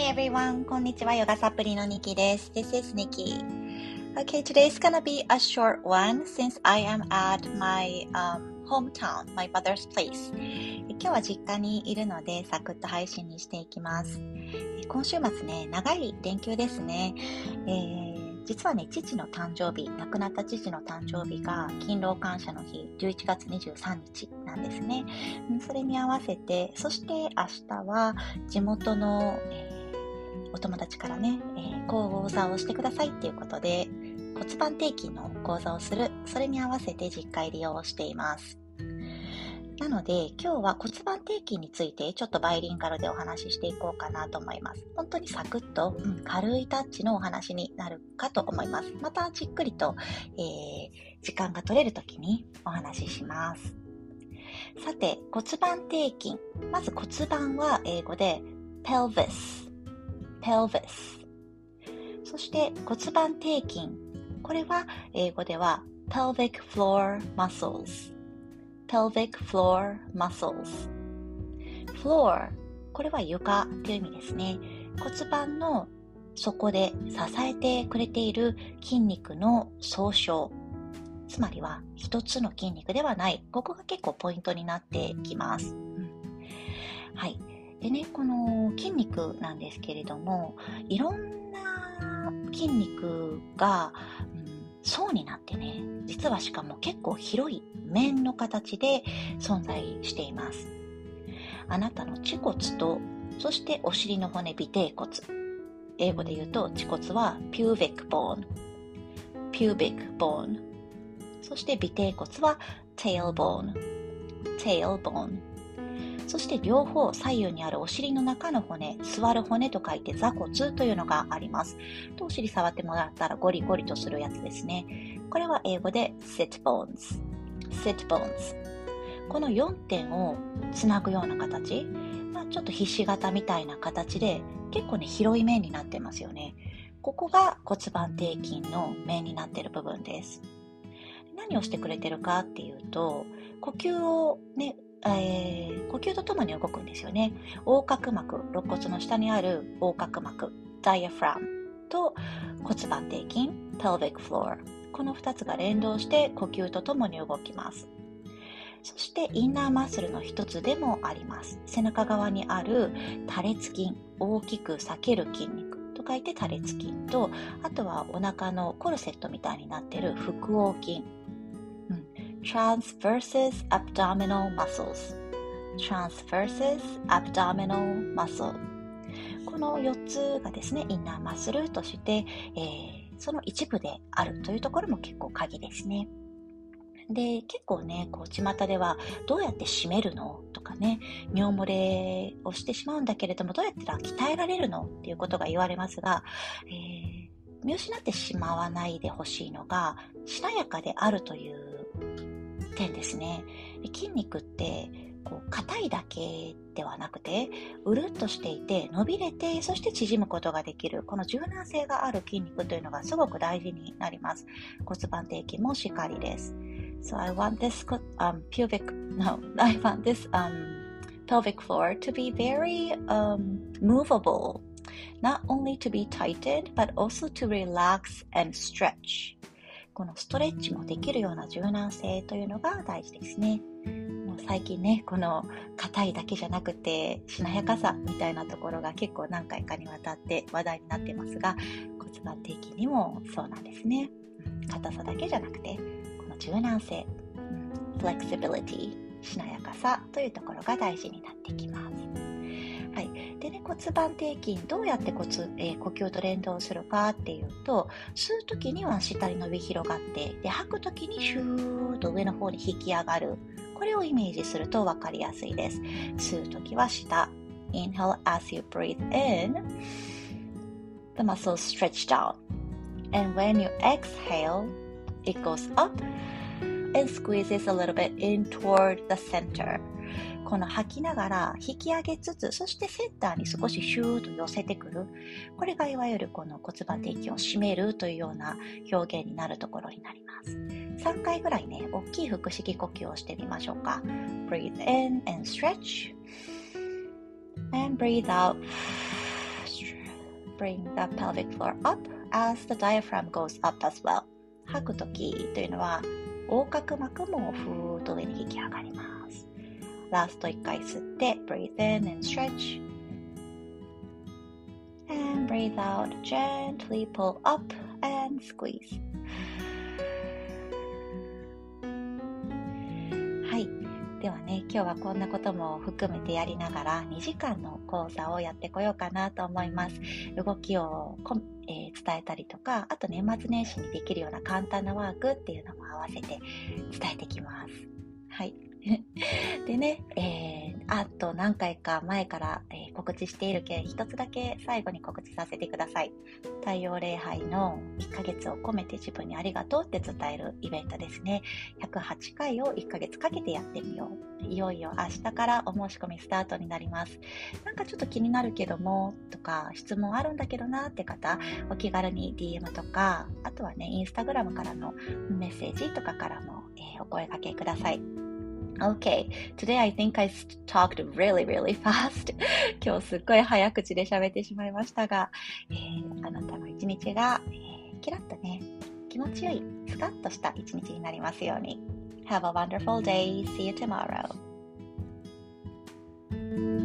Hi everyone! こんにちは。ヨガサプリのニキです。This is Nikki. Okay, today's gonna be a short one since I am at my hometown, my mother's place. 今日は実家にいるのでサクッと配信にしていきます。今週末ね、長い連休ですね。実はね、父の誕生日、亡くなった父の誕生日が勤労感謝の日、11月23日なんですね。それに合わせて、そして明日は地元の、お友達からね、講座をしてくださいっていうことで、骨盤底筋の講座をする、それに合わせて実家入りをしています。なので今日は骨盤底筋についてちょっとバイリンガルでお話ししていこうかなと思います。本当にサクッと、軽いタッチのお話になるかと思います。またじっくりと、時間が取れるときにお話しします。さて、骨盤底筋。まず骨盤は英語で pelvis。そして骨盤底筋。これは英語では pelvic floor muscles。pelvic floor muscles。floor、これは床という意味ですね。骨盤の底で支えてくれている筋肉の総称。つまりは一つの筋肉ではない。ここが結構ポイントになってきます。はい。でね、この筋肉なんですけれども、いろんな筋肉が、層になってね、実はしかも結構広い面の形で存在しています。あなたの恥骨と、そしてお尻の骨、尾てい骨。英語で言うと恥骨は pubic bone。そして尾てい骨は tailbone。そして両方左右にあるお尻の中の骨、座る骨と書いて座骨というのがあります。お尻触ってもらったらゴリゴリとするやつですね。これは英語で sit bones。この4点をつなぐような形、ちょっとひし形みたいな形で結構ね広い面になってますよね。ここが骨盤底筋の面になっている部分です。何をしてくれてるかっていうと、呼吸をね、呼吸とともに動くんですよね。横隔膜、肋骨の下にある横隔膜、ダイアフラムと骨盤底筋、pelvic floor。この2つが連動して呼吸とともに動きます。そしてインナーマッスルの一つでもあります。背中側にある多裂筋、大きく裂ける筋肉と書いて多裂筋と、あとはお腹のコルセットみたいになっている腹横筋。transversus abdominal muscles。この4つがですね、インナーマッスルとして、その一部であるというところも結構鍵ですね。で、結構ね、巷ではどうやって締めるのとかね、尿漏れをしてしまうんだけれども、どうやったら鍛えられるのっていうことが言われますが、見失ってしまわないでほしいのが、しなやかであるという点ですね。筋肉って硬いだけではなくて、うるっとしていて伸びれて、そして縮むことができる、この柔軟性がある筋肉というのがすごく大事になります。骨盤底筋もしっかりです。So I want this pelvic floor to be very movable, not only to be tightened, but also to relax and stretch. このストレッチもできるような柔軟性というのが大事ですね。もう最近ね、この硬いだけじゃなくてしなやかさみたいなところが結構何回かにわたって話題になってますが、骨盤底筋にもそうなんですね。硬さだけじゃなくて、この柔軟性、flexibility、しなやかさというところが大事になってきます。はい。でね、骨盤底筋どうやって呼吸と連動するかっていうと、吸うときには下に伸び広がって、で吐くときにシューッと上の方に引き上がる。これをイメージすると分かりやすいです。吸うときは下。Inhale as you breathe in. The muscles stretch down. And when you exhale, it goes up and squeezes a little bit in toward the center.この吐きながら引き上げつつ、そしてセンターに少しシューッと寄せてくる。これがいわゆるこの骨盤底筋を締めるというような表現になるところになります。3回ぐらいね、大きい腹式呼吸をしてみましょうか。Breathe in and stretch. And breathe out. Stretch. bring the pelvic floor up as the diaphragm goes up as well. 吐くときというのは横隔膜もふーっと上に引き上がります。ラスト1回吸って breathe in and stretch and breathe out, gently pull up and squeeze. はい、ではね、今日はこんなことも含めてやりながら2時間の講座をやってこようかなと思います。動きを伝えたりとか、あと年末年始にできるような簡単なワークっていうのも合わせて伝えてきます。はいでね、あと何回か前から、告知しているけ一つだけ最後に告知させてください。太陽礼拝の1ヶ月を込めて自分にありがとうって伝えるイベントですね。108回を1ヶ月かけてやってみよう。いよいよ明日からお申し込みスタートになります。なんかちょっと気になるけどもとか質問あるんだけどなって方、お気軽に DM とか、あとはね、インスタグラムからのメッセージとかからも、お声掛けください。Okay, today I think I talked really, really fast. 今日すっごい早口で喋ってしまいましたが、あなたの一日が、キラッとね、気持ちよい、スカッとした一日になりますように。Have a wonderful day. See you tomorrow.